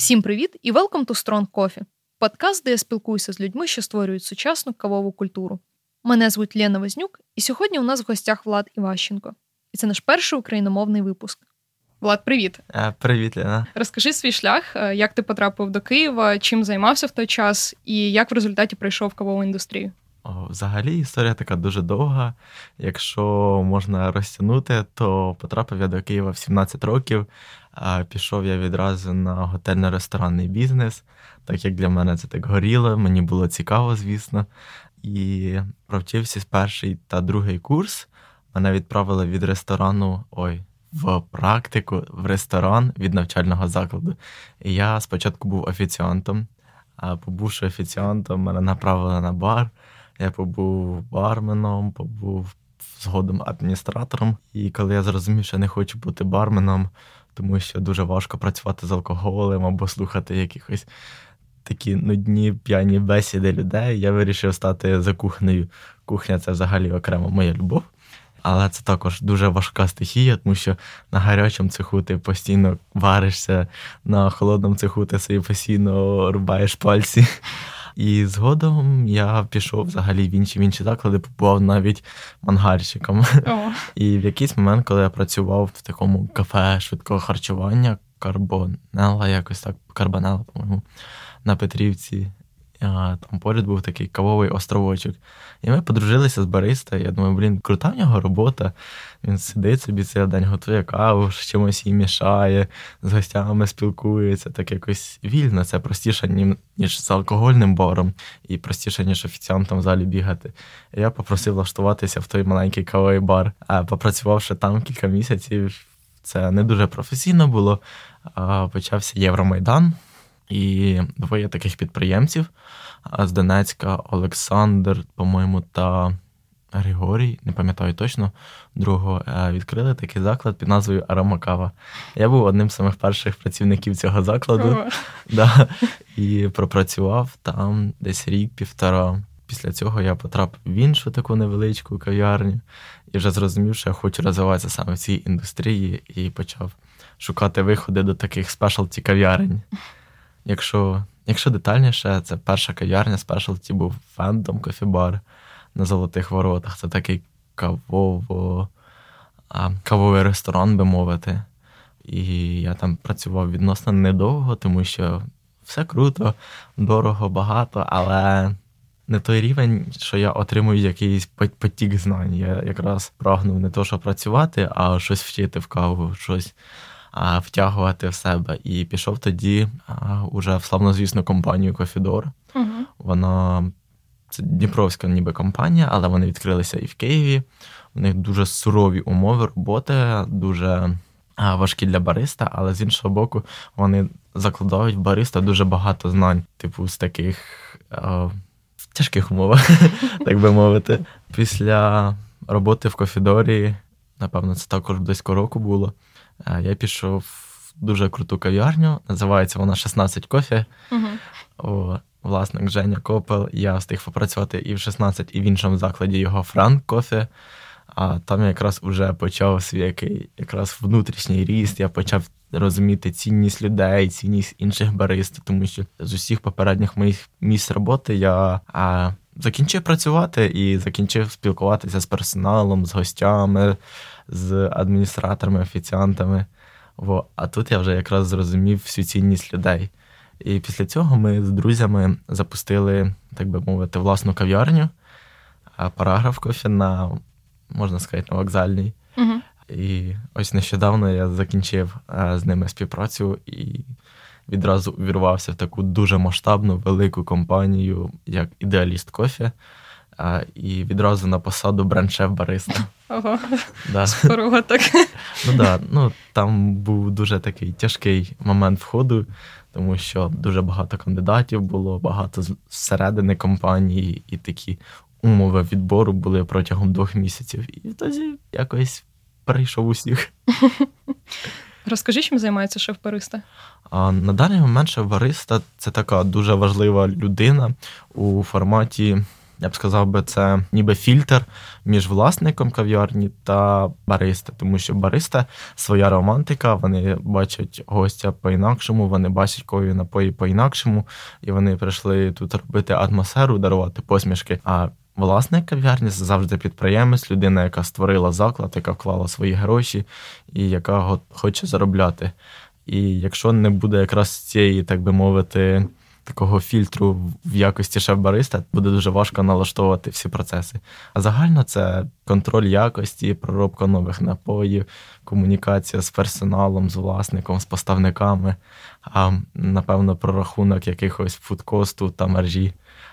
Всім привіт і welcome to Strong Coffee. Подкаст, де я спілкуюся з людьми, що створюють сучасну кавову культуру. Мене звуть Лена Вознюк, і сьогодні у нас в гостях Влад Іващенко. І це наш перший україномовний випуск. Влад, привіт. Привіт, Лена. Розкажи свій шлях, як ти потрапив до Києва, чим займався в той час і як в результаті прийшов в кавову індустрію. Взагалі історія така дуже довга. Якщо можна розтягнути, то потрапив я до Києва в 17 років. Пішов я відразу на готельно-ресторанний бізнес, так як для мене це так горіло, мені було цікаво, звісно. І провчився з перший та другий курс. Мене відправили від ресторану, в практику, в ресторан від навчального закладу. І я спочатку був офіціантом, а побувши офіціантом, мене направили на бар. Я побув барменом, побув згодом адміністратором. І коли я зрозумів, що не хочу бути барменом, тому що дуже важко працювати з алкоголем або слухати якихось такі нудні, п'яні бесіди людей, я вирішив стати за кухнею. Кухня – це взагалі окрема моя любов. Але це також дуже важка стихія, тому що на гарячому цеху ти постійно варишся, на холодному цеху ти собі постійно рубаєш пальці. І згодом я пішов взагалі в інші заклади, побував навіть мангальщиком. І в якийсь момент, коли я працював в такому кафе швидкого харчування, Карбонела, по-моєму, на Петрівці, там поряд був такий кавовий островочок. І ми подружилися з бариста. Я думаю, крута в нього робота. Він сидить собі цілий день, готує каву, з чимось її мішає, з гостями спілкується. Так якось вільно. Це простіше, ніж з алкогольним баром. І простіше, ніж офіціантом в залі бігати. І я попросив влаштуватися в той маленький кавовий бар. А попрацювавши там кілька місяців, це не дуже професійно було. Почався Євромайдан. І двоє таких підприємців з Донецька, Олександр, по-моєму, та Григорій, не пам'ятаю точно, другого, відкрили такий заклад під назвою Аромакава. Я був одним з самих перших працівників цього закладу. І пропрацював там десь рік-півтора. Після цього я потрапив в іншу таку невеличку кав'ярню і вже зрозумів, що я хочу розвиватися саме в цій індустрії і почав шукати виходи до таких спешалті кав'ярень. Якщо детальніше, це перша кав'ярня спешалті був Фендом кофі-бар на Золотих Воротах. Це такий кавовий ресторан, би мовити. І я там працював відносно недовго, тому що все круто, дорого, багато, але не той рівень, що я отримую якийсь потік знань. Я якраз прагнув не то, що працювати, а щось вчити в каву, щось втягувати в себе. І пішов тоді уже в славнозвісну компанію Кофідор. Вона, це дніпровська ніби компанія, але вони відкрилися і в Києві. У них дуже сурові умови роботи, дуже важкі для бариста, але з іншого боку вони закладають в бариста дуже багато знань, з таких тяжких умовах, так би мовити. Після роботи в Кофідорі, напевно, це також близько року було, я пішов в дуже круту кав'ярню, називається вона 16 кофе. Власник Женя Копел, я встиг попрацювати і в 16, і в іншому закладі його Франк кофе. А там я якраз вже почав свій якраз внутрішній ріст, я почав розуміти цінність людей, цінність інших барист, тому що з усіх попередніх моїх місць роботи я закінчив працювати і закінчив спілкуватися з персоналом, з гостями, з адміністраторами, офіціантами. А тут я вже якраз зрозумів всю цінність людей. І після цього ми з друзями запустили, так би мовити, власну кав'ярню, Параграф кофе можна сказати, на Вокзальній. І ось нещодавно я закінчив з ними співпрацю і відразу увірвався в таку дуже масштабну, велику компанію, як Ідеаліст Кофе, і відразу на посаду бренд-шеф бариста. Ого, споруга так. Там був дуже такий тяжкий момент входу, тому що дуже багато кандидатів було, багато зсередини компанії, і такі умови відбору були протягом 2 місяців. І тоді якось перейшов усіх. Розкажи, чим займається шеф-бариста? На даний момент шеф-бариста – це така дуже важлива людина у форматі я б сказав би, це ніби фільтр між власником кав'ярні та бариста, тому що бариста – своя романтика, вони бачать гостя по-інакшому, вони бачать кові напої по-інакшому, і вони прийшли тут робити атмосферу, дарувати посмішки, а власник кав'ярні – завжди підприємець, людина, яка створила заклад, яка вклала свої гроші і яка хоче заробляти. І якщо не буде якраз цієї, так би мовити, такого фільтру в якості шеф-бариста, буде дуже важко налаштовувати всі процеси. А загально це контроль якості, проробка нових напоїв, комунікація з персоналом, з власником, з поставниками, а напевно прорахунок якихось фудкосту та маржі,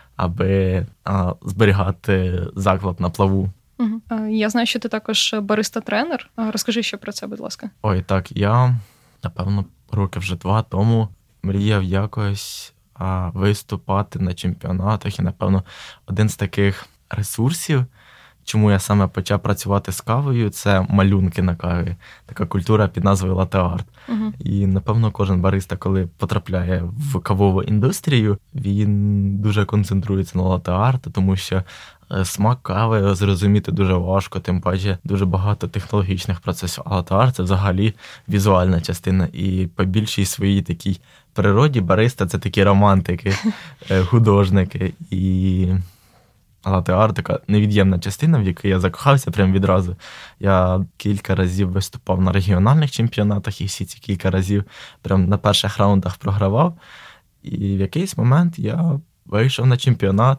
аби зберігати заклад на плаву. Я знаю, що ти також бариста-тренер. Розкажи ще про це, будь ласка. Ой, так, я, напевно, роки вже 2 тому мріяв якось виступати на чемпіонатах. І, напевно, один з таких ресурсів, чому я саме почав працювати з кавою, це малюнки на каві. Така культура під назвою лате-арт. І, напевно, кожен бариста, коли потрапляє в кавову індустрію, він дуже концентрується на лате-арт, тому що смак кави зрозуміти дуже важко, тим паче дуже багато технологічних процесів. А лате-арт – це взагалі візуальна частина. І по більшій своїй такій природі бариста – це такі романтики, художники. І лате-арт – така невід'ємна частина, в яку я закохався прямо відразу. Я кілька разів виступав на регіональних чемпіонатах, і всі ці кілька разів прямо на перших раундах програвав. І в якийсь момент я вийшов на чемпіонат,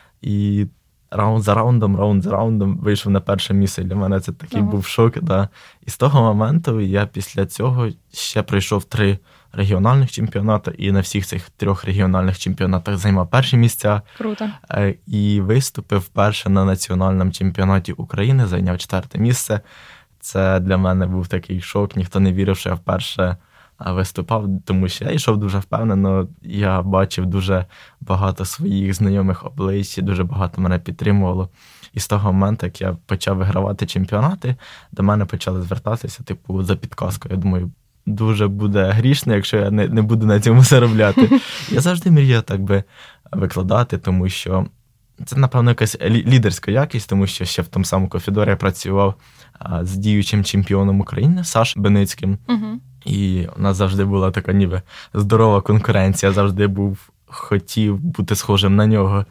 і раунд за раундом вийшов на перше місце. Для мене це такий був шок. Да. І з того моменту я після цього ще пройшов 3 регіональних чемпіонати, і на всіх цих 3 регіональних чемпіонатах займав перші місця. Круто. І виступив вперше на національному чемпіонаті України, зайняв 4-те місце. Це для мене був такий шок, ніхто не вірив, що я вперше виступав, тому що я йшов дуже впевнено, я бачив дуже багато своїх знайомих облич, дуже багато мене підтримувало. І з того моменту, як я почав вигравати чемпіонати, до мене почали звертатися, типу, за підказкою. Я думаю, дуже буде грішно, якщо я не буду на цьому заробляти. Я завжди мріяв так би викладати, тому що це, напевно, якась лідерська якість, тому що ще в тому самому Кофідорі я працював з діючим чемпіоном України Сашою Беницьким. І у нас завжди була така ніби здорова конкуренція, завжди хотів бути схожим на нього.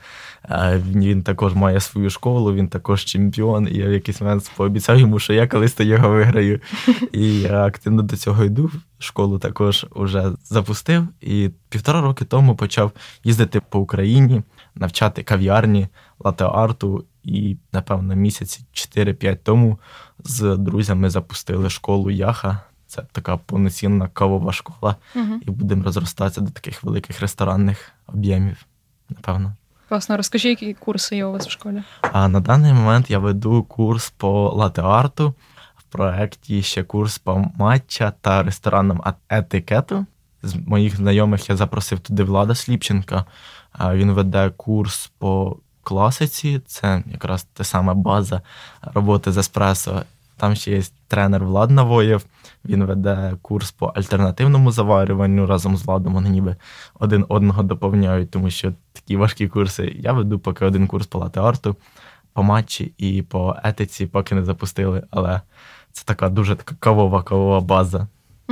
Він також має свою школу, він також чемпіон, і я в якийсь момент пообіцяв йому, що я колись його виграю. І я активно до цього йду, школу також вже запустив, і 1,5 роки тому почав їздити по Україні, навчати кав'ярні, лате-арту, і, напевно, місяці 4-5 тому з друзями запустили школу Яха. Це така повноцінна кавова школа, і будемо розростатися до таких великих ресторанних об'ємів, напевно. Класно. Розкажи, які курси є у вас в школі? На даний момент я веду курс по лате-арту, в проєкті ще курс по матча та ресторанному етикету. З моїх знайомих я запросив туди Влада Сліпченка. Він веде курс по класиці, це якраз та сама база роботи з еспресо. Там ще є тренер Влад Навоєв, він веде курс по альтернативному заварюванню разом з Владом, вони ніби один одного доповняють, тому що такі важкі курси. Я веду поки один курс по лате-арту, по матчі і по етиці, поки не запустили, але це така дуже така кавова база.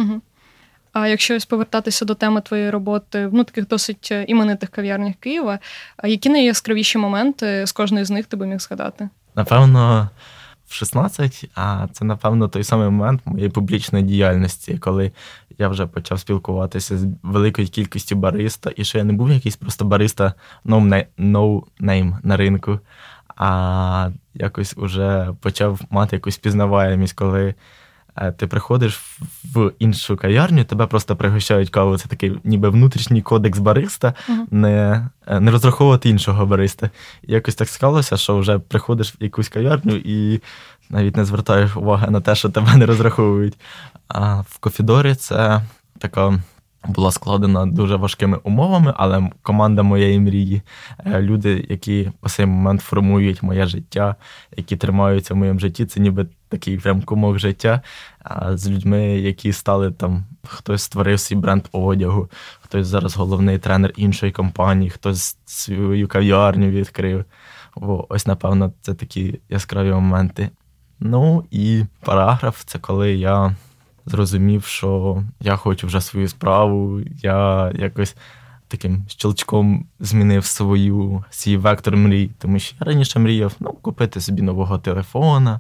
А якщо повертатися до теми твоєї роботи в таких досить іменитих кав'ярнях Києва, які найяскравіші моменти з кожної з них ти би міг згадати? Напевно, в 16, а це, напевно, той самий момент моєї публічної діяльності, коли я вже почав спілкуватися з великою кількістю бариста, і що я не був якийсь просто бариста no name на ринку, а якось уже почав мати якусь пізнаваємість, коли ти приходиш в іншу кав'ярню, тебе просто пригощають каву. Це такий ніби внутрішній кодекс бариста, не розраховувати іншого бариста. І якось так склалося, що вже приходиш в якусь кав'ярню і навіть не звертаєш уваги на те, що тебе не розраховують. А в Кофідорі це така була складена дуже важкими умовами, але команда моєї мрії, люди, які по цей момент формують моє життя, які тримаються в моєму житті, це ніби такий прям кумок життя, з людьми, які стали там, хтось створив свій бренд одягу, хтось зараз головний тренер іншої компанії, хтось свою кав'ярню відкрив. Ось, напевно, це такі яскраві моменти. Ну, і параграф – це коли я зрозумів, що я хочу вже свою справу, я якось таким щелчком змінив свій вектор мрій. Тому що я раніше мріяв, купити собі нового телефона,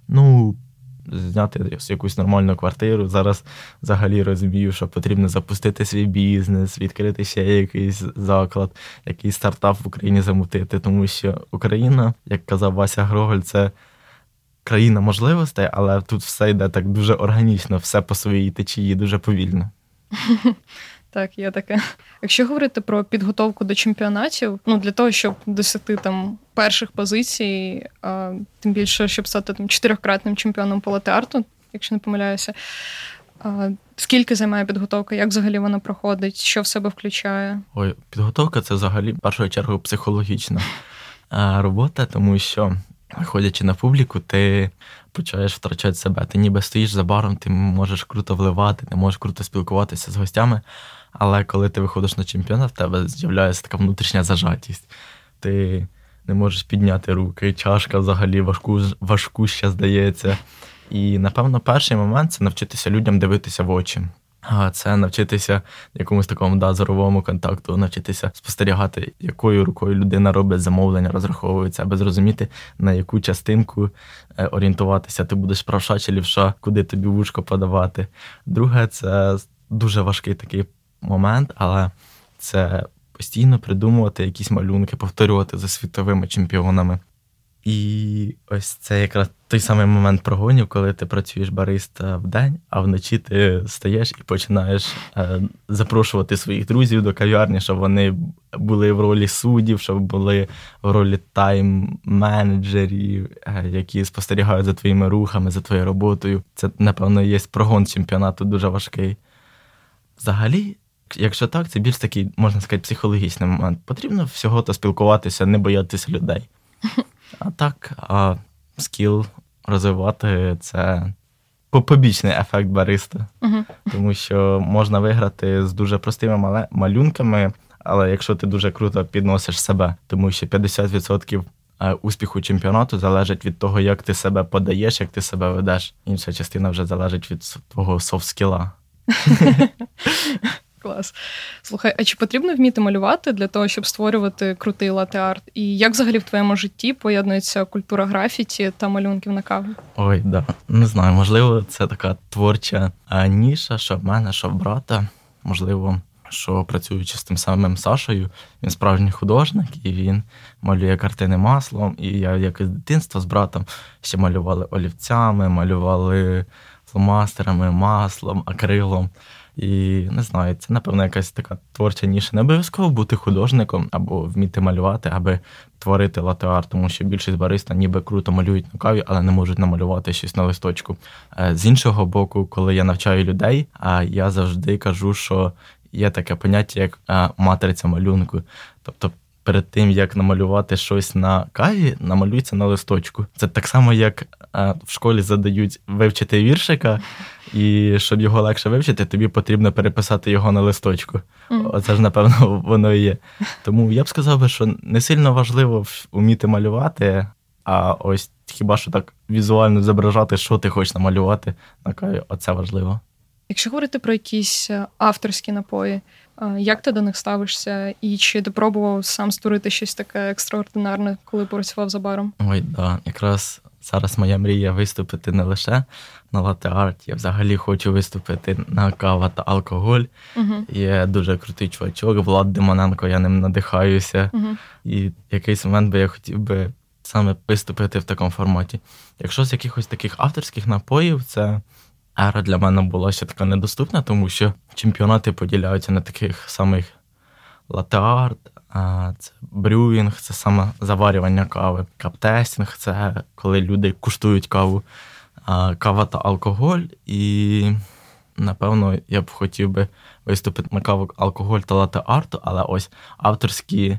зняти якусь нормальну квартиру. Зараз взагалі розумію, що потрібно запустити свій бізнес, відкрити ще якийсь заклад, якийсь стартап в Україні замутити. Тому що Україна, як казав Вася Гроголь, це країна можливостей, але тут все йде так дуже органічно, все по своїй течії, дуже повільно. Так, є таке. Якщо говорити про підготовку до чемпіонатів, для того, щоб досягти там перших позицій, тим більше, щоб стати там 4-кратним чемпіоном по латте-арту, якщо не помиляюся, скільки займає підготовка, як взагалі вона проходить, що в себе включає? Підготовка – це взагалі, в першу чергу, психологічна робота, тому що, виходячи на публіку, ти починаєш втрачати себе. Ти ніби стоїш за баром, ти можеш круто вливати, ти можеш круто спілкуватися з гостями, але коли ти виходиш на чемпіонат, в тебе з'являється така внутрішня зажатість. Ти не можеш підняти руки, чашка взагалі важку ще здається. І, напевно, перший момент – це навчитися людям дивитися в очі. Це навчитися якомусь такому зоровому контакту, навчитися спостерігати, якою рукою людина робить замовлення, розраховується, аби зрозуміти, на яку частинку орієнтуватися. Ти будеш правша чи лівша, куди тобі вушко подавати. Друге, це дуже важкий такий момент, але це постійно придумувати якісь малюнки, повторювати за світовими чемпіонами. І ось це якраз той самий момент прогонів, коли ти працюєш бариста вдень, а вночі ти стаєш і починаєш запрошувати своїх друзів до кав'ярні, щоб вони були в ролі суддів, щоб були в ролі тайм-менеджерів, які спостерігають за твоїми рухами, за твоєю роботою. Це, напевно, є прогон чемпіонату дуже важкий. Взагалі, якщо так, це більш такий, можна сказати, психологічний момент. Потрібно всього-то спілкуватися, не боятися людей. А так, скіл розвивати – це побічний ефект бариста. Тому що можна виграти з дуже простими малюнками, але якщо ти дуже круто підносиш себе, тому що 50% успіху чемпіонату залежить від того, як ти себе подаєш, як ти себе ведеш. Інша частина вже залежить від твого софт-скіла. Клас. Слухай, а чи потрібно вміти малювати для того, щоб створювати крутий латте-арт? І як взагалі в твоєму житті поєднується культура графіті та малюнків на каві? Не знаю, можливо, це така творча ніша, що в мене, що в брата. Можливо, що працюючи з тим самим Сашою, він справжній художник, і він малює картини маслом. І я якось з дитинства з братом ще малювали олівцями, малювали фломастерами, маслом, акрилом. І, не знаю, це, напевно, якась така творча ніша. Не обов'язково бути художником або вміти малювати, аби творити латте-арт, тому що більшість бариста ніби круто малюють на каві, але не можуть намалювати щось на листочку. З іншого боку, коли я навчаю людей, я завжди кажу, що є таке поняття, як матриця малюнку. Тобто, перед тим, як намалювати щось на каві, намалюється на листочку. Це так само, як в школі задають вивчити віршика, і щоб його легше вивчити, тобі потрібно переписати його на листочку. Оце ж, напевно, воно і є. Тому я б сказав би, що не сильно важливо вміти малювати, а ось хіба що так візуально зображати, що ти хочеш намалювати на каві, оце важливо. Якщо говорити про якісь авторські напої, як ти до них ставишся? І чи ти пробував сам створити щось таке екстраординарне, коли працював за баром? Якраз зараз моя мрія виступити не лише на латте-арт, я взагалі хочу виступити на кава та алкоголь. Є дуже крутий чувачок, Влад Демоненко, я ним надихаюся. І якийсь момент би я хотів би саме виступити в такому форматі. Якщо з якихось таких авторських напоїв, це ера для мене була ще така недоступна, тому що чемпіонати поділяються на таких самих латте-арт, це брюїнг, це саме заварювання кави, каптестінг, це коли люди куштують каву, кава та алкоголь. І, напевно, я б хотів би виступити на каву, алкоголь та латте-арту, але ось авторські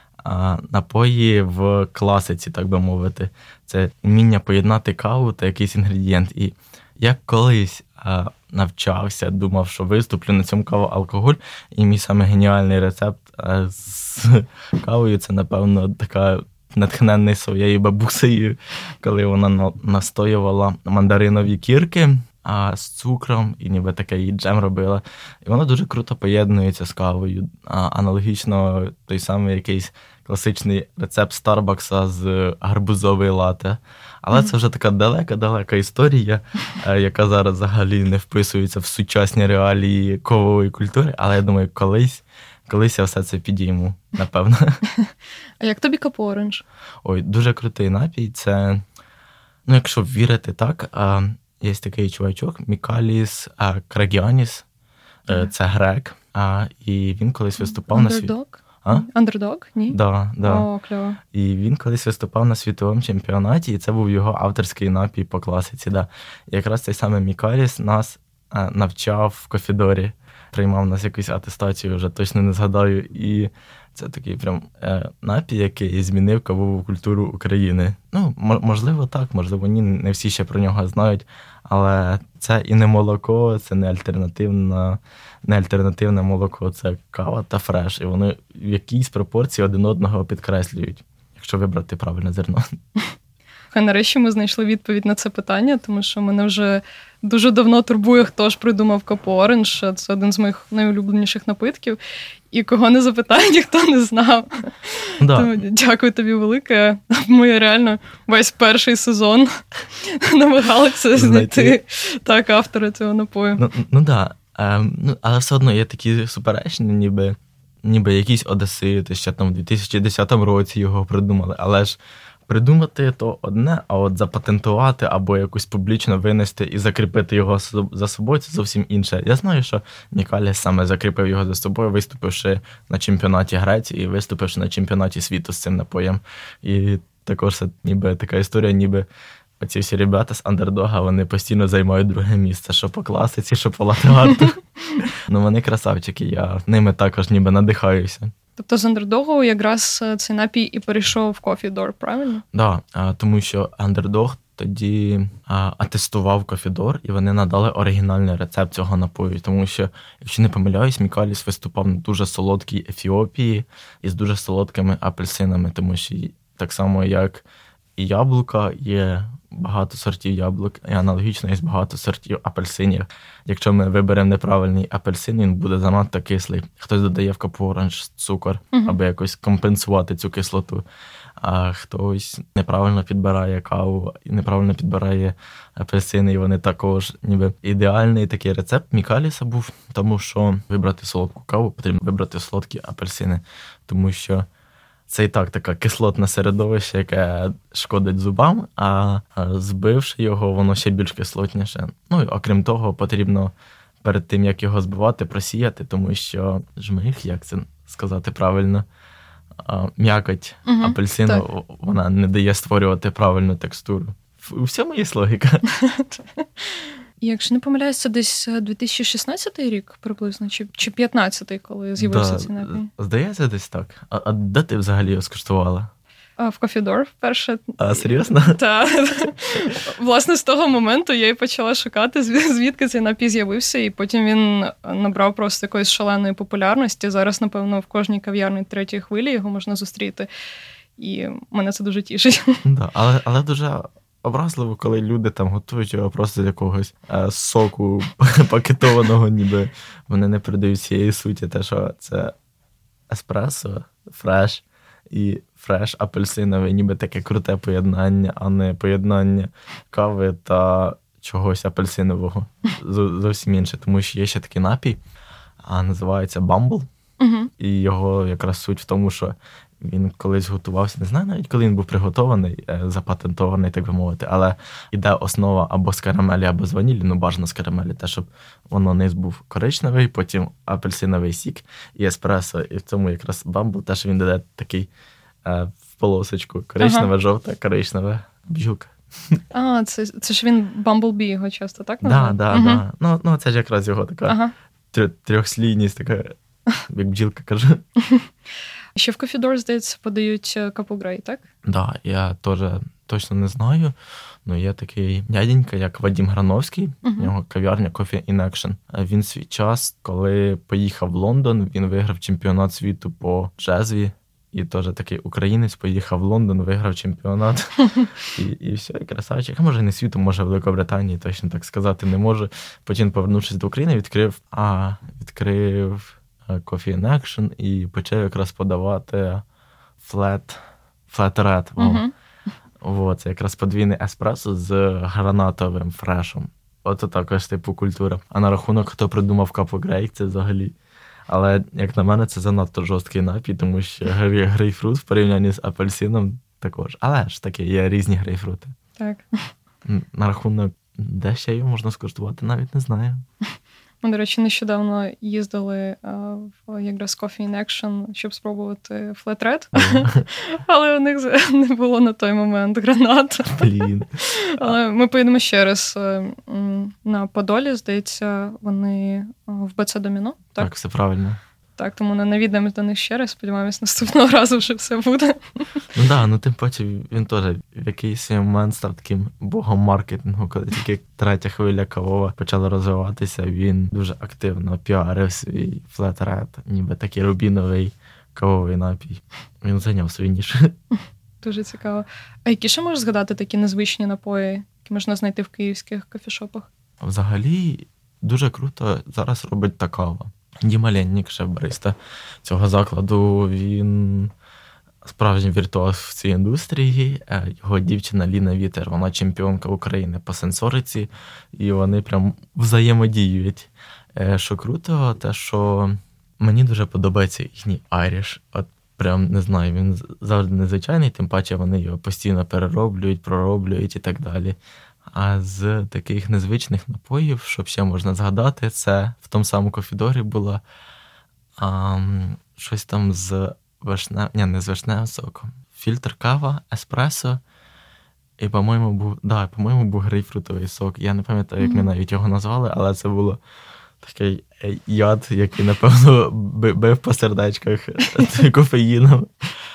напої в класиці, так би мовити. Це вміння поєднати каву та якийсь інгредієнт. І я колись навчався, думав, що виступлю на цьому кава-алкоголь, і мій саме геніальний рецепт з кавою – це, напевно, така натхнений своєю бабусею, коли вона настоювала мандаринові кірки з цукром, і ніби такий джем робила. І воно дуже круто поєднується з кавою. Аналогічно той самий якийсь класичний рецепт Старбакса з гарбузової лате. Але це вже така далека історія, яка зараз взагалі не вписується в сучасні реалії кавової культури. Але я думаю, колись я все це підійму, напевно. А як тобі Капу Оранж? Ой, дуже крутий напій. Це, якщо вірити так, є такий чувачок Мікаліс Крагіаніс, це грек, і він колись виступав на світовому... Андердог? Ні? Да. О, кльово. І він колись виступав на світовому чемпіонаті, і це був його авторський напій по класиці. Да. І якраз цей самий Мікаліс нас навчав в Кофідорі, приймав нас якусь атестацію, вже точно не згадаю. І це такий прям напій, який змінив кавову культуру України. Можливо, так, можливо, ні, не всі ще про нього знають, але це і не молоко, це не альтернативне молоко, це кава та фреш. І вони в якійсь пропорції один одного підкреслюють, якщо вибрати правильне зерно. Нарешті ми знайшли відповідь на це питання, тому що мене вже дуже давно турбує, хто ж придумав Капу Оранж. Це один з моїх найулюбленіших напитків. І кого не запитає, ніхто не знав. Да. Тому дякую тобі велике. Ми реально весь перший сезон намагалися знайти автора цього напою. Але все одно є такі суперечні, ніби якісь одесити, ще там в 2010 році його придумали. Але ж придумати то одне, а от запатентувати або якусь публічно винести і закріпити його за собою – це зовсім інше. Я знаю, що Мікаліс саме закріпив його за собою, виступивши на чемпіонаті Греції і виступивши на чемпіонаті світу з цим напоєм. І також це ніби така історія, ніби оці всі ребята з андердога, вони постійно займають друге місце, що по класиці, що по латте-арту. Вони красавчики, я ними також ніби надихаюся. Тобто з андердогу якраз цей напій і перейшов в Coffee Door, правильно? Так, тому що андердог тоді атестував Coffee Door, і вони надали оригінальний рецепт цього напою. Тому що, якщо не помиляюсь, Мікаліс виступав на дуже солодкій Ефіопії із дуже солодкими апельсинами, тому що так само, як і яблука, є багато сортів яблук, і аналогічно є багато сортів апельсинів. Якщо ми виберемо неправильний апельсин, він буде занадто кислий. Хтось додає в Капу Оранж цукор, аби якось компенсувати цю кислоту. А хтось неправильно підбирає каву, і неправильно підбирає апельсини, і вони також ніби ідеальний такий рецепт Мікаліса був, тому що вибрати солодку каву, потрібно вибрати солодкі апельсини, тому що це і так таке кислотне середовище, яке шкодить зубам, а збивши його, воно ще більш кислотніше. І окрім того, потрібно перед тим, як його збивати, просіяти, тому що жмих, як це сказати правильно, м'якоть апельсину, вона не дає створювати правильну текстуру. У всьому є логіка. Якщо не помиляюсь, це десь 2016 рік приблизно, чи 2015, коли з'явився цей напій? Здається, десь так. А де ти взагалі його скуштувала? В Coffee Door вперше. А, серйозно? Так. Власне, з того моменту я і почала шукати, звідки цей напій з'явився, і потім він набрав просто якоїсь шаленої популярності. Зараз, напевно, в кожній кав'ярні третьої хвилі його можна зустріти. І мене це дуже тішить. Да, але дуже образливо, коли люди там готують його просто з якогось соку пакетованого, ніби вони не передають цієї суті, те, що це еспресо, фреш і фреш апельсиновий, ніби таке круте поєднання, а не поєднання кави та чогось апельсинового. Зовсім інше, тому що є ще такий напій, називається Bumble, і його якраз суть в тому, що він колись готувався, не знаю навіть, коли він був приготований, запатентований, так би мовити, але іде основа або з карамелі, або з ванілі, бажано з карамелі, те, щоб воно низ був коричневий, потім апельсиновий сік і еспресо, і в цьому якраз Бамбл, те, що він додає такий в полосочку, коричневе, жовте, коричневе, бджілка. Це ж він Bumblebee його часто, так? Так. Ну, це ж якраз його така трьохслійність, така, як бджілка кажу. Ще в Coffee Door, здається, подають Капу Грей, так? Так, я теж точно не знаю. Є такий дяденька, як Вадим Грановський, у нього кав'ярня Coffee in Action. Він свій час, коли поїхав в Лондон, він виграв чемпіонат світу по джезві І теж такий українець поїхав в Лондон, виграв чемпіонат. І все, і красавчик. А може не світу, може в Великобританії, точно так сказати не можу. Потім, повернувшись до України, відкрив Coffee in Action і почав якраз подавати Flat Red. Це якраз подвійний еспресо з гранатовим фрешом. От також типу культура. А на рахунок, хто придумав Капо Грей, це взагалі. Але, як на мене, це занадто жорсткий напій, тому що грейпфрут в порівнянні з апельсином також. Але ж таки, є різні грейпфрути. Так. На рахунок, де ще його можна скуштувати, навіть не знаю. Ми, до речі, нещодавно їздили в якраз Coffee in Action, щоб спробувати Flat Red. Але у них не було на той момент гранат. Блін. Але ми поїдемо ще раз на Подолі, здається, вони в БЦ Доміно. Так, все правильно. Так, тому навідаємось до них ще раз, сподіваємось, наступного разу вже все буде. Тим паче він теж в якийсь момент став таким богом маркетингу, коли тільки третя хвиля кавова почала розвиватися, він дуже активно піарив свій Flat Red, ніби такий рубіновий кавовий напій. Він зайняв свій ніж. Дуже цікаво. А які ще можеш згадати такі незвичні напої, які можна знайти в київських кофішопах? Взагалі, дуже круто зараз робить та кава. Діма Леннік, шеф-бариста цього закладу, він справжній віртуоз в цій індустрії. Його дівчина Ліна Вітер, вона чемпіонка України по сенсориці, і вони прям взаємодіють. Що круто, те, що мені дуже подобається їхній айріш. От прям, не знаю, він завжди незвичайний, тим паче вони його постійно перероблюють, пророблюють і так далі. А з таких незвичних напоїв, що ще можна згадати, це в тому самому кофідорі було щось там з не з вишневим соком. Фільтр кава, еспресо, і, по-моєму, був грейпфрутовий сок. Я не пам'ятаю, як ми навіть його назвали, але це було такий яд, який, напевно, бив по сердечках кофеїном.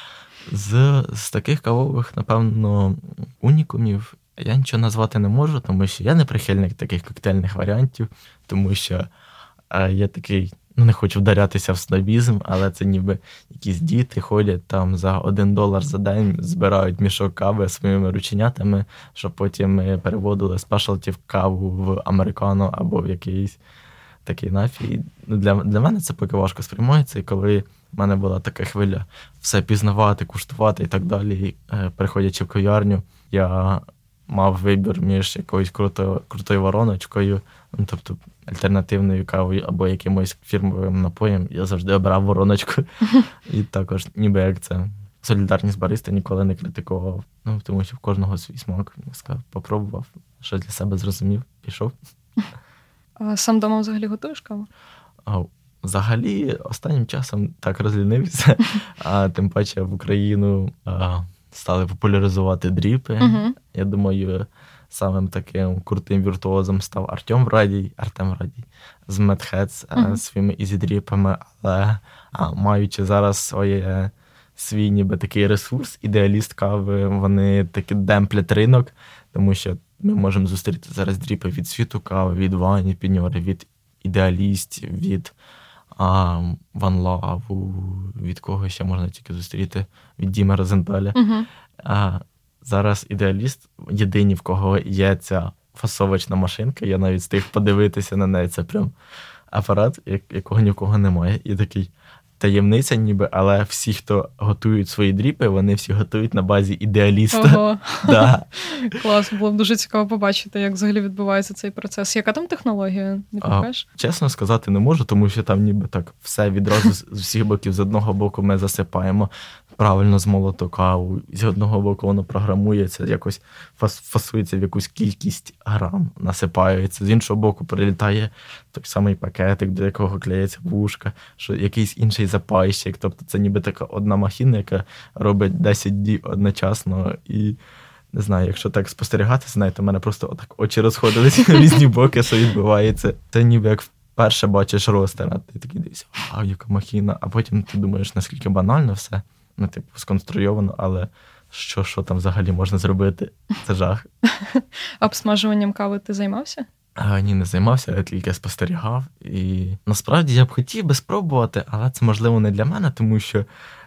З таких кавових, напевно, унікумів я нічого назвати не можу, тому що я не прихильник таких коктейльних варіантів, тому що я такий, не хочу вдарятися в снобізм, але це ніби якісь діти ходять там за $1 за день, збирають мішок кави своїми рученятами, щоб потім ми переводили спешалті в каву в американо або в якийсь такий напій. Для мене це поки важко сприймається, і коли в мене була така хвиля все пізнавати, куштувати і так далі, приходячи в кав'ярню, я мав вибір між якоюсь крутою вороночкою, тобто альтернативною кавою або якимось фірмовим напоєм, я завжди обирав вороночку. І також, ніби як це, солідарність бариста ніколи не критикував, тому що в кожного свій смак, я сказав, попробував, що для себе зрозумів, пішов. А сам дома взагалі готуєш каву? Взагалі, останнім часом так розлінився, а тим паче в Україну стали популяризувати дріпи. Я думаю, самим таким крутим віртуозом став Артем Радій з Mad Heads своїми ізі-дріпами, але маючи зараз свій ніби такий ресурс, ідеаліст кави, вони таки демплять ринок, тому що ми можемо зустріти зараз дріпи від світу кави, від Вані Піньори, від ідеалістів, від Ван Лаву, від кого ще можна тільки зустріти, від Діма Розенталя. Зараз ідеаліст, єдині, в кого є ця фасовочна машинка, я навіть встиг подивитися на неї, це прям апарат, якого ні в кого немає. І такий таємниця ніби, але всі, хто готують свої дріпи, вони всі готують на базі ідеаліста. Ого. Да. Клас, було б дуже цікаво побачити, як взагалі відбувається цей процес. Яка там технологія? Не пам'ятаєш? Чесно сказати не можу, тому що там ніби так все відразу з всіх боків. З одного боку ми засипаємо правильно змолоту каву, з одного боку воно програмується, якось фасується в якусь кількість грам, насипається, з іншого боку прилітає той самий пакетик, до якого клеїться вушка, що якийсь інший запайщик, тобто це ніби така одна махіна, яка робить 10 дій одночасно, і не знаю, якщо так спостерігати, знаєте, у мене просто отак очі розходились в різні боки, що відбувається. Це ніби як вперше бачиш ростер, а ти такий дивишся, яка махіна, а потім ти думаєш, наскільки банально все, сконструйовано, але що там взагалі можна зробити? Це жах. Обсмажуванням кави ти займався? Ні, не займався, я тільки спостерігав. І насправді я б хотів би спробувати, але це, можливо, не для мене, тому що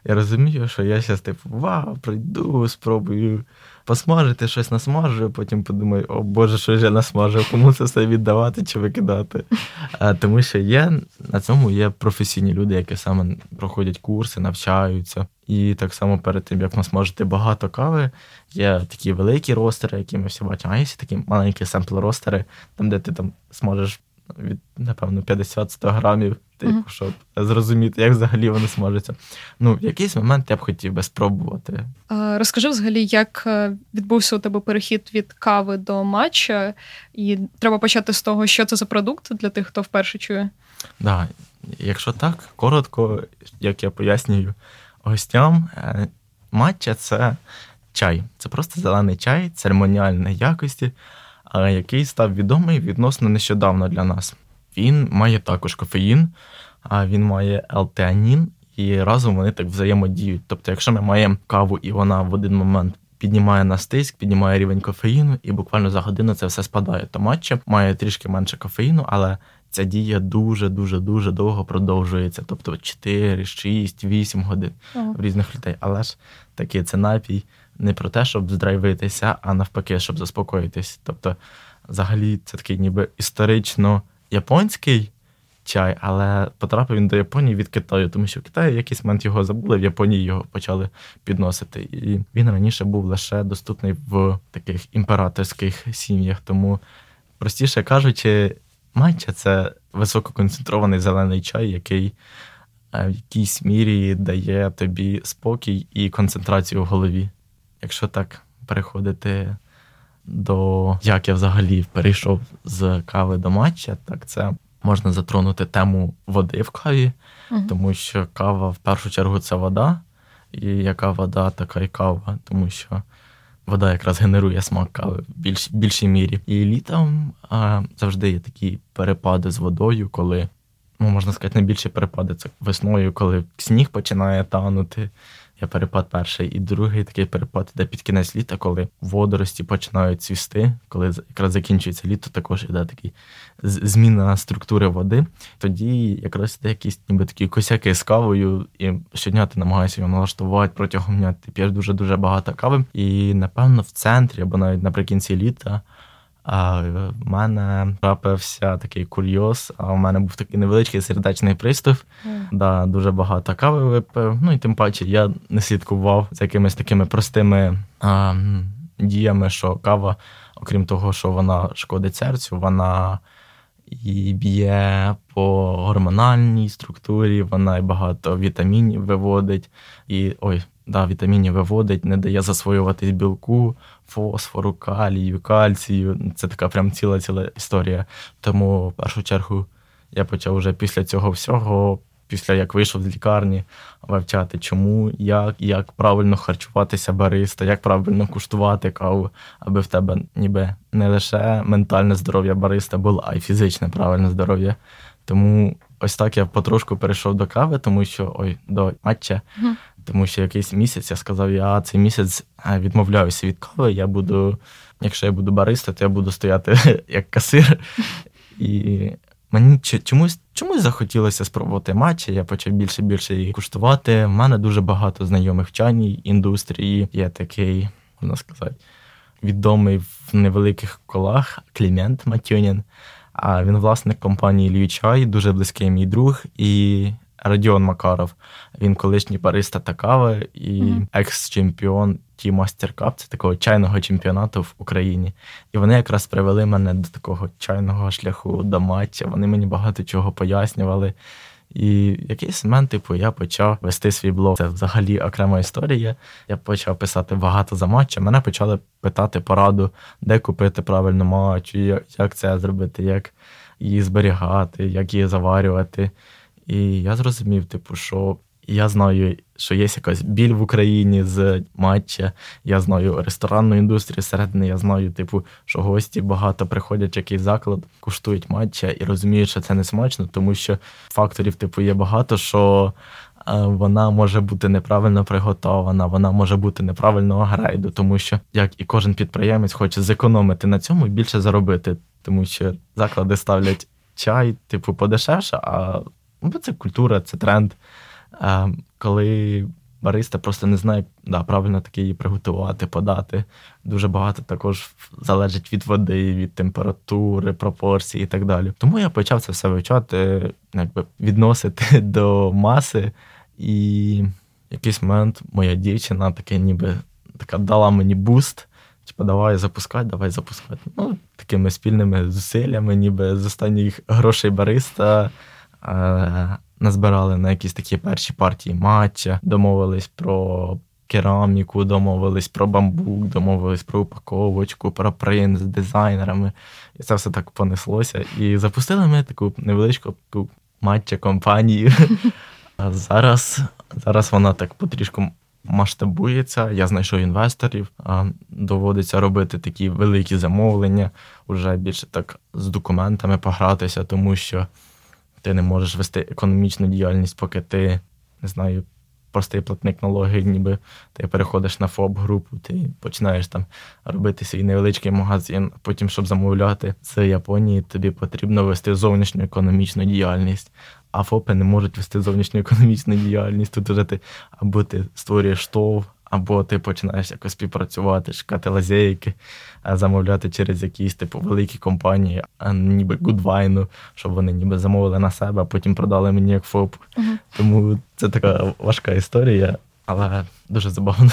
Я розумію, що я зараз, вау, прийду, спробую посмажити, щось насмажу, потім подумаю, о Боже, що ж я насмажив, кому це все віддавати чи викидати. Тому що на цьому є професійні люди, які саме проходять курси, навчаються. І так само перед тим, як насмажити багато кави, є такі великі ростери, які ми всі бачимо, а є такі маленькі семпл-ростери, там, де ти там смажеш від, напевно, 50-100 грамів, щоб зрозуміти, як взагалі вони смажаться. В якийсь момент я б хотів би спробувати. Розкажи взагалі, як відбувся у тебе перехід від кави до матча, і треба почати з того, що це за продукт для тих, хто вперше чує. Да. Якщо так, коротко, як я пояснюю гостям, матча – це чай. Це просто зелений чай церемоніальної якості, який став відомий відносно нещодавно для нас. Він має також кофеїн, а він має L-теанін, і разом вони так взаємодіють. Тобто, якщо ми маємо каву, і вона в один момент піднімає нас тиск, піднімає рівень кофеїну, і буквально за годину це все спадає, то матча має трішки менше кофеїну, але ця дія дуже-дуже-дуже довго продовжується. Тобто 4, 6, 8 годин в різних людей. Але ж таки, це напій не про те, щоб здрайвитися, а навпаки, щоб заспокоїтись. Тобто, взагалі, це такий ніби історично японський чай, але потрапив він до Японії від Китаю, тому що в Китаї в якийсь момент його забули, в Японії його почали підносити. І він раніше був лише доступний в таких імператорських сім'ях. Тому, простіше кажучи, матча – це висококонцентрований зелений чай, який в якійсь мірі дає тобі спокій і концентрацію в голові. Якщо так переходити до як я взагалі перейшов з кави до матча, так це можна затронути тему води в каві, тому що кава в першу чергу це вода, і яка вода, така і кава, тому що вода якраз генерує смак кави в більшій мірі. І літом завжди є такі перепади з водою, коли, можна сказати, найбільші перепади це весною, коли сніг починає танути. Є перепад перший. І другий такий перепад іде під кінець літа, коли водорості починають цвісти, коли якраз закінчується літо, також іде такий зміна структури води. Тоді якраз іде якісь ніби такі косяки з кавою, і щодня ти намагаєшся його налаштувати, протягом дня ти п'єш дуже-дуже багато кави. І, напевно, в центрі, або навіть наприкінці літа, в мене трапився такий курйоз, у мене був такий невеличкий сердечний приступ, дуже багато кави випив, і тим паче я не слідкував за якимись такими простими діями, що кава, окрім того, що вона шкодить серцю, вона і б'є по гормональній структурі, вона і багато вітамінів виводить, вітамінів виводить, не дає засвоюватись білку, фосфору, калію, кальцію. Це така прям ціла історія. Тому, в першу чергу, я почав вже після цього всього, після як вийшов з лікарні, вивчати, чому, як правильно харчуватися бариста, як правильно куштувати каву, аби в тебе ніби не лише ментальне здоров'я бариста було, а й фізичне правильне здоров'я. Тому ось так я потрошку перейшов до кави, до матча. Тому що якийсь місяць я сказав, я цей місяць відмовляюся від кави, якщо я буду бариста, то я буду стояти як касир. І мені чомусь захотілося спробувати матча, я почав більше її куштувати. У мене дуже багато знайомих в чайній індустрії. Є такий, можна сказати, відомий в невеликих колах Клімент Матюнін. А він власник компанії Львів Чай, дуже близький мій друг, і Родіон Макаров. Він колишній бариста та кави і екс-чемпіон Tea Master Cup, це такого чайного чемпіонату в Україні. І вони якраз привели мене до такого чайного шляху, до матча. Вони мені багато чого пояснювали. І в якийсь момент, я почав вести свій блог. Це взагалі окрема історія. Я почав писати багато за матча. Мене почали питати пораду, де купити правильно матчу, як це зробити, як її зберігати, як її заварювати. І я зрозумів, що я знаю, що є якась біль в Україні з матча, я знаю ресторанну індустрію всередині, я знаю, що гості багато приходять в якийсь заклад, куштують матча і розуміють, що це не смачно, тому що факторів, є багато, що вона може бути неправильно приготована, вона може бути неправильного грейду, тому що, як і кожен підприємець хоче зекономити на цьому і більше заробити, тому що заклади ставлять чай, подешевше, бо це культура, це тренд. Коли бариста просто не знає, правильно таки її приготувати, подати. Дуже багато також залежить від води, від температури, пропорцій і так далі. Тому я почав це все вивчати, відносити до маси. І в якийсь момент моя дівчина така дала мені буст. Давай запускати. Такими спільними зусиллями, ніби з останніх грошей бариста назбирали на якісь такі перші партії матча, домовились про кераміку, домовились про бамбук, домовились про упаковочку, про принт з дизайнерами. І це все так понеслося. І запустили ми таку невеличку матча-компанію. А зараз вона так потрішку масштабується, я знайшов інвесторів, доводиться робити такі великі замовлення, вже більше так з документами погратися, тому що ти не можеш вести економічну діяльність, поки ти, не знаю, простий платник налогів, ніби ти переходиш на ФОП-групу, ти починаєш там робити свій невеличкий магазин, потім, щоб замовляти з Японії, тобі потрібно вести зовнішню економічну діяльність. А ФОПи не можуть вести зовнішню економічну діяльність. Тут вже або ти створюєш ТОВ, або ти починаєш якось співпрацювати, шукати лазейки, замовляти через якісь великі компанії, ніби Гудвайну, щоб вони ніби замовили на себе, а потім продали мені як ФОП. Угу. Тому це така важка історія, але дуже забавно.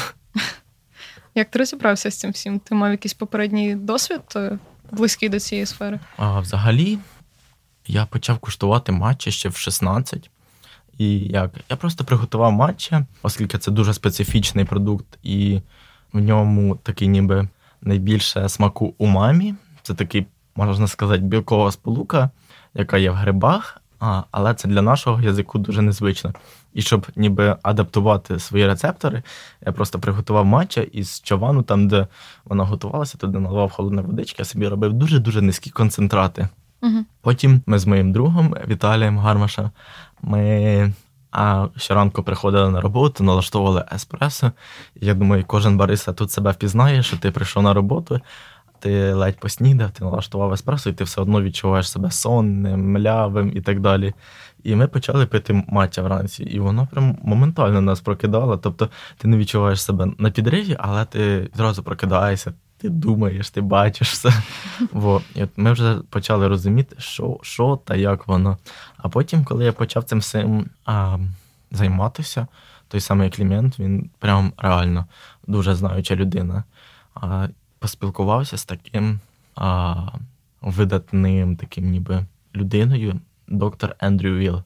Як ти розібрався з цим всім? Ти мав якийсь попередній досвід близький до цієї сфери? Взагалі, я почав куштувати матча ще в 16. І я просто приготував матча, оскільки це дуже специфічний продукт, і в ньому такий ніби найбільше смаку умамі. Це такий, можна сказати, білкова сполука, яка є в грибах, але це для нашого язику дуже незвично. І щоб ніби адаптувати свої рецептори, я просто приготував матча із чавану, там, де вона готувалася, туди наливав холодної водички, я собі робив дуже-дуже низькі концентрати. Угу. Потім ми з моїм другом Віталієм Гармашем, ми щоранку приходили на роботу, налаштовували еспресо. Я думаю, кожен бариста тут себе впізнає, що ти прийшов на роботу, ти ледь поснідав, ти налаштував еспресо, і ти все одно відчуваєш себе сонним, млявим і так далі. І ми почали пити матча вранці, і воно прям моментально нас прокидало. Тобто ти не відчуваєш себе на підриві, але ти зразу прокидаєшся, ти думаєш, ти бачиш все. І от ми вже почали розуміти, що та як воно. А потім, коли я почав цим всім займатися, той самий Клімент, він прям реально дуже знаюча людина. Поспілкувався з таким видатним таким ніби людиною, доктор Ендрю Вілл.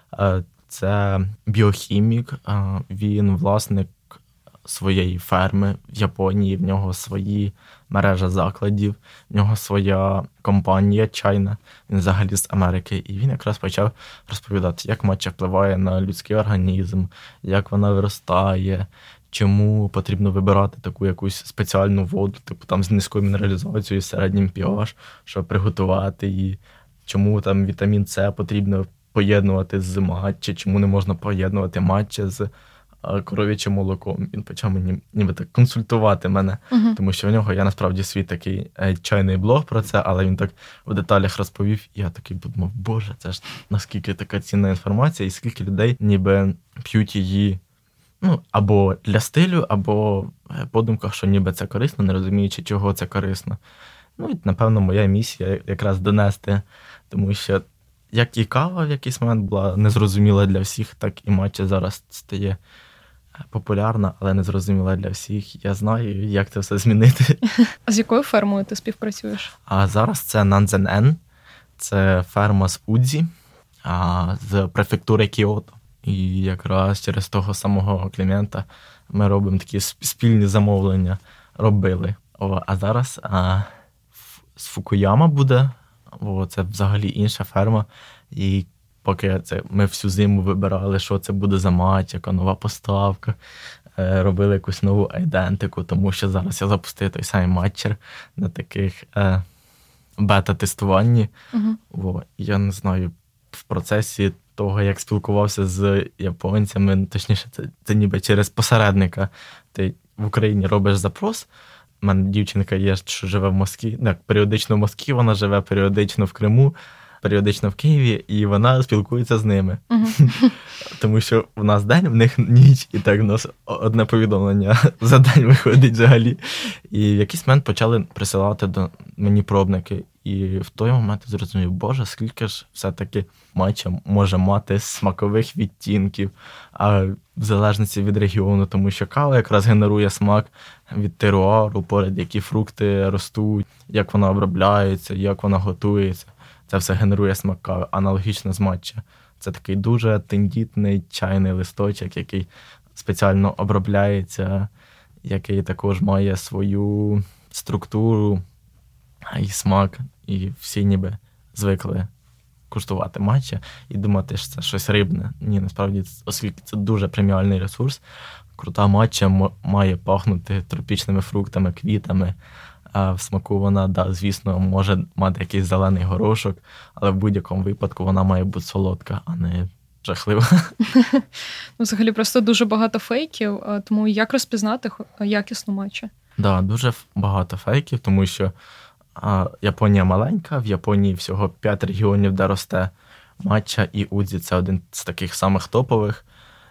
Це біохімік, він власник своєї ферми в Японії, в нього свої мережа закладів, в нього своя компанія чайна, він взагалі з Америки. І він якраз почав розповідати, як матча впливає на людський організм, як вона виростає, чому потрібно вибирати таку якусь спеціальну воду, там з низькою мінералізацією, середнім pH, щоб приготувати її, чому там вітамін С потрібно поєднувати з матча, чому не можна поєднувати матча з коров'ячим молоком. Він почав мені ніби так консультувати мене, тому що в нього я насправді свій такий чайний блог про це, але він так в деталях розповів, і я такий подумав, боже, це ж наскільки така цінна інформація, і скільки людей ніби п'ють її або для стилю, або по думках, що ніби це корисно, не розуміючи, чого це корисно. І, напевно, моя місія якраз донести, тому що як і кава в якийсь момент була незрозуміла для всіх, так і матча зараз стає популярна, але незрозуміла для всіх. Я знаю, як це все змінити. А з якою фермою ти співпрацюєш? А зараз це Нанзен-ен. Це ферма з Удзі, з префектури Кіото. І якраз через того самого Клімента ми робимо такі спільні замовлення. Робили. А зараз з Фукуяма буде. Це взагалі інша ферма. І поки ми всю зиму вибирали, що це буде за матч, яка нова поставка, робили якусь нову айдентику, тому що зараз я запустив той самий матчер на таких бета-тестуванні. Я не знаю, в процесі того, як спілкувався з японцями, точніше, це ніби через посередника. Ти в Україні робиш запрос. У мене дівчинка є, що живе в Москві, періодично в Москві, вона живе періодично в Криму, періодично в Києві, і вона спілкується з ними. Тому що в нас день, в них ніч, і так у нас одне повідомлення за день виходить взагалі. І в якийсь момент почали присилати до мені пробники. І в той момент я зрозумів, боже, скільки ж все-таки матча може мати смакових відтінків, а в залежності від регіону, тому що кава якраз генерує смак від теруару, поряд які фрукти ростуть, як вона обробляється, як вона готується. Це все генерує смак кави, аналогічно з матча. Це такий дуже тендітний чайний листочок, який спеціально обробляється, який також має свою структуру і смак, і всі ніби звикли куштувати матча і думати, що це щось рибне. Ні, насправді, оскільки це дуже преміальний ресурс, крута матча має пахнути тропічними фруктами, квітами, а в смаку вона, звісно, може мати якийсь зелений горошок, але в будь-якому випадку вона має бути солодка, а не жахлива. Взагалі просто дуже багато фейків, тому як розпізнати якісну матчу? Так, дуже багато фейків, тому що Японія маленька, в Японії всього 5 регіонів, де росте матча, і удзі – це один з таких самих топових.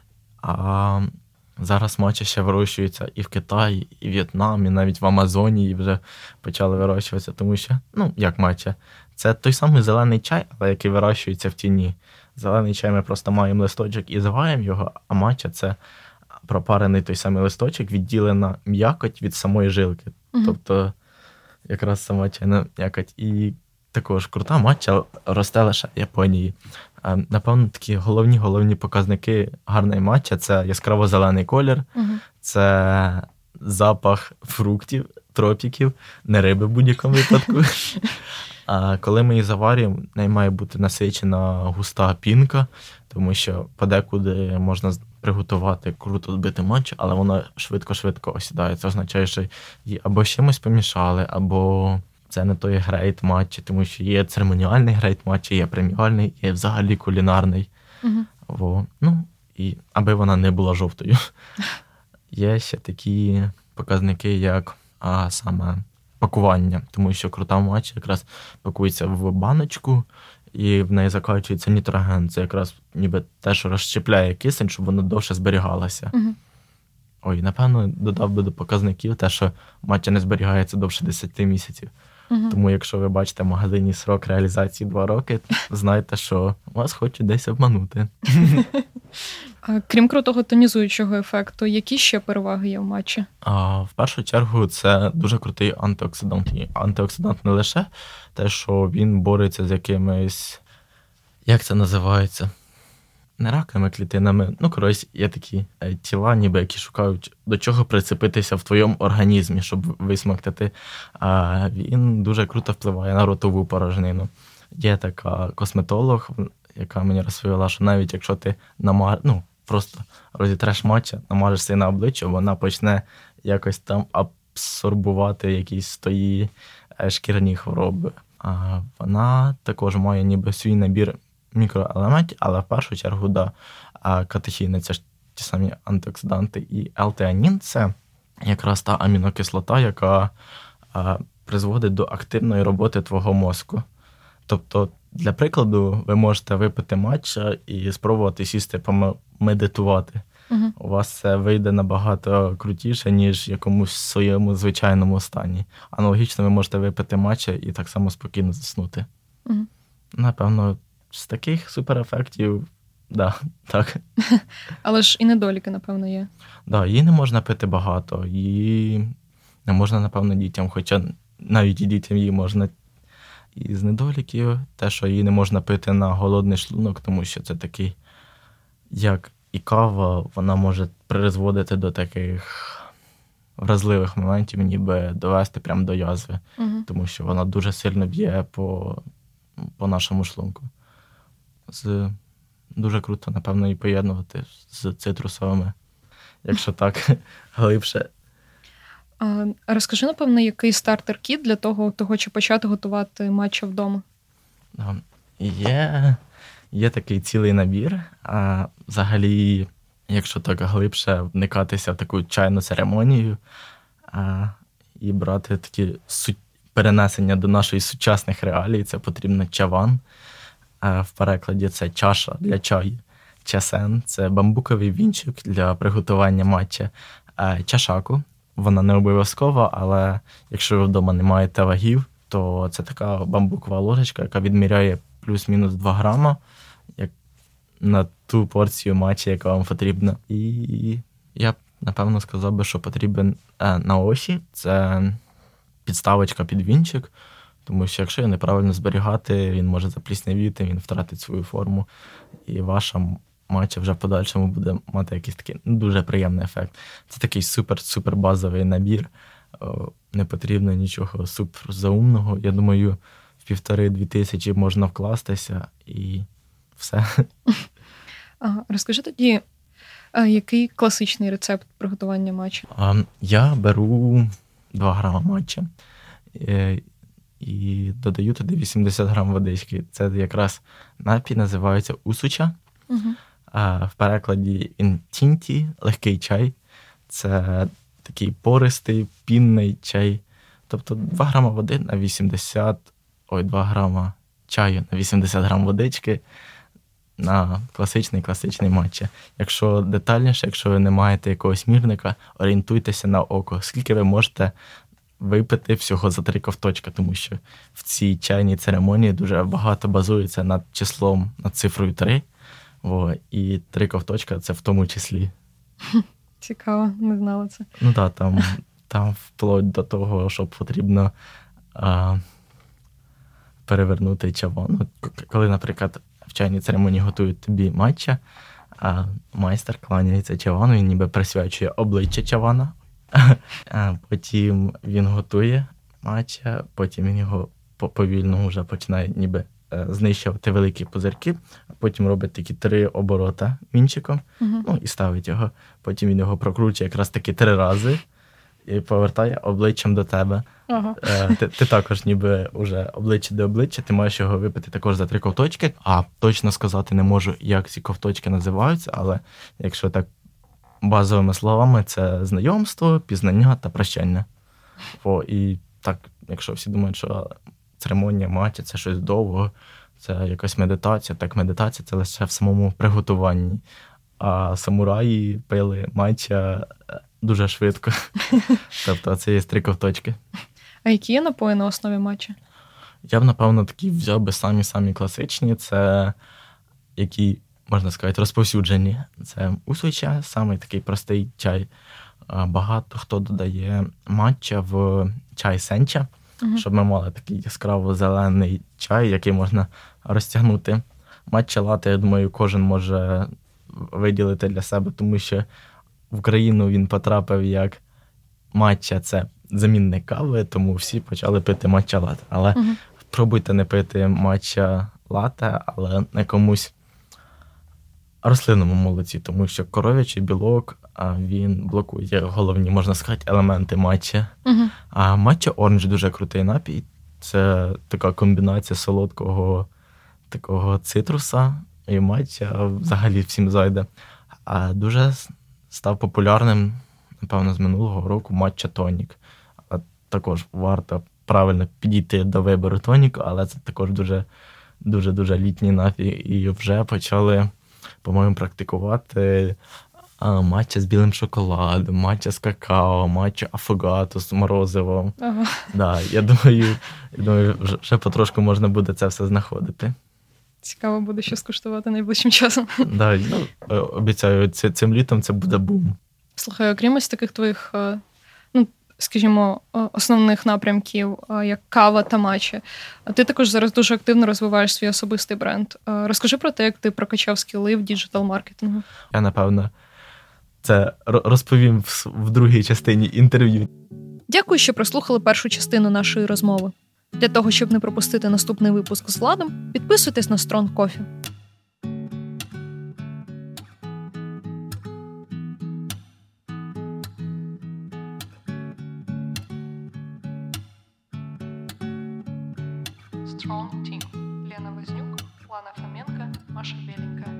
А зараз матча ще вирощується і в Китаї, і в В'єтнамі, навіть в Амазонії вже почали вирощуватися, тому що, як матча, це той самий зелений чай, але який вирощується в тіні. Зелений чай ми просто маємо листочок і зваємо його, а матча – це пропарений той самий листочок, відділена м'якоть від самої жилки. Тобто якраз сама чайна м'якоть. І також крута матча росте лише в Японії. Напевно, такі головні показники гарної матча – це яскраво-зелений колір, це запах фруктів, тропіків, не риби в будь-якому випадку. А коли ми її заварюємо, в неї має бути насичена густа пінка, тому що подекуди можна приготувати круто збити матчу, але воно швидко осідає. Це означає, що її або з чимось помішали, або це не той грейт матчі, тому що є церемоніальний грейт матчі, є преміальний, є взагалі кулінарний. І аби вона не була жовтою. Є ще такі показники, як саме пакування, тому що крута матча якраз пакується в баночку, і в неї закачується нітроген. Це якраз ніби те, що розщепляє кисень, щоб воно довше зберігалося. Напевно, додав би до показників те, що матча не зберігається довше 10 місяців. Тому якщо ви бачите в магазині срок реалізації 2 роки, знайте, що вас хочуть десь обманути. Крім крутого тонізуючого ефекту, які ще переваги є в матчі? В першу чергу, це дуже крутий антиоксидант. І антиоксидант не лише те, що він бореться з якимись, як це називається, не раковими клітинами, є такі тіла, ніби які шукають, до чого прицепитися в твоєму організмі, щоб висмоктати. Він дуже круто впливає на ротову порожнину. Є така косметолог, яка мені розповіла, що навіть якщо ти просто розітреш матча, намажешся на обличчя, вона почне якось там абсорбувати якісь твої шкірні хвороби. Вона також має ніби свій набір мікроелементів, але в першу чергу, катехіни – це ж ті самі антиоксиданти. І L-теанін – це якраз та амінокислота, яка призводить до активної роботи твого мозку. Тобто, для прикладу, ви можете випити матча і спробувати сісти помедитувати. У вас це вийде набагато крутіше, ніж в якомусь своєму звичайному стані. Аналогічно ви можете випити матча і так само спокійно заснути. Напевно, з таких суперефектів, так. Але ж і недоліки, напевно, є. Її не можна пити багато, її не можна, напевно, дітям, хоча навіть і дітям її можна. І з недоліків те, що її не можна пити на голодний шлунок, тому що це такий, як і кава, вона може призводити до таких вразливих моментів, ніби довести прямо до язви, тому що вона дуже сильно б'є по нашому шлунку. Дуже круто, напевно, її поєднувати з цитрусовими, якщо так глибше. Розкажи, напевно, який стартер-кіт для того, хто хоче почати готувати матча вдома? Є такий цілий набір. Взагалі, якщо так глибше вникатися в таку чайну церемонію і брати такі перенесення до нашої сучасних реалій, це потрібно чаван. В перекладі це чаша для чаю. Часен – це бамбуковий вінчик для приготування матча. Чашаку – вона не обов'язкова, але якщо ви вдома не маєте вагів, то це така бамбукова ложечка, яка відміряє плюс-мінус 2 грама як на ту порцію матча, яка вам потрібна. І я б, напевно, сказав би, що потрібен на осі – це підставочка під вінчик, тому що якщо його неправильно зберігати, він може запліснявіти, він втратить свою форму, і ваша матча вже в подальшому буде мати якийсь такий дуже приємний ефект. Це такий супер-супер базовий набір, не потрібно нічого супер заумного. Я думаю, в 1,5-2 тисячі можна вкластися і все. Розкажи тоді, який класичний рецепт приготування матча? Я беру 2 грама матча і додаю туди 80 грам водички. Це якраз напій називається усуча. Угу. В перекладі інтінті – легкий чай. Це такий пористий, пінний чай. Тобто 2 грама води на 2 грама чаю на 80 грам водички на класичний матча. Якщо детальніше, якщо ви не маєте якогось мірника, орієнтуйтеся на око. Скільки ви можете випити всього за 3 ковточка, тому що в цій чайній церемонії дуже багато базується над числом, над цифрою 3. І 3 ковточка – це в тому числі. Цікаво, не знала це. Ну так, там вплоть до того, що потрібно перевернути чаван. Коли, наприклад, в чайній церемонії готують тобі матча, майстер кланяється чавану, він ніби присвячує обличчя чавана. Потім він готує матча, потім він його повільно вже починає ніби знищувати великі пузирки, а потім робить такі 3 оборота вінчиком, і ставить його. Потім він його прокручує якраз таки 3 рази і повертає обличчям до тебе. Ага. Ти також ніби вже обличчя до обличчя, ти маєш його випити також за 3 ковточки. Точно сказати не можу, як ці ковточки називаються, але якщо так базовими словами, це знайомство, пізнання та прощання. І так, якщо всі думають, що церемонія матча – це щось довго, це якась медитація. Так, медитація – це лише в самому приготуванні. А самураї пили матча дуже швидко. Тобто це є 3 ковточки. А які є напої на основі матча? Я б, напевно, такі взяв би самі класичні. Це які, можна сказати, розповсюджені. Це усуча, самий такий простий чай. Багато хто додає матча в чай сенча, щоб ми мали такий яскраво-зелений чай, який можна розтягнути. Матча лате, я думаю, кожен може виділити для себе, тому що в Україну він потрапив як матча – це замінник кави, тому всі почали пити матча лате. Але пробуйте не пити матча лате, але на якомусь рослинному молоці, тому що коров'ячий білок, він блокує головні, можна сказати, елементи матча. А матча оранж дуже крутий напій. Це така комбінація солодкого такого цитруса і матча взагалі всім зайде. А дуже став популярним, напевно, з минулого року матча тонік. Також варто правильно підійти до вибору тоніку, але це також дуже літній напій. І вже почали, по-моєму, практикувати матча з білим шоколадом, матча з какао, матча афогато з морозивом. Ага. Да, я думаю, вже потрошку можна буде це все знаходити. Цікаво буде що скуштувати найближчим часом. Да, обіцяю, цим літом це буде бум. Слухай, окрім ось таких твоїх, скажімо, основних напрямків, як кава та матча, ти також зараз дуже активно розвиваєш свій особистий бренд. Розкажи про те, як ти прокачав скіли в діджитал-маркетингу. Я, напевно, це розповім в другій частині інтерв'ю. Дякую, що прослухали першу частину нашої розмови. Для того, щоб не пропустити наступний випуск з Владом, підписуйтесь на Strong Coffee. Strong Team. Лена Вознюк, Лана Фоменко, Маша Беленькая.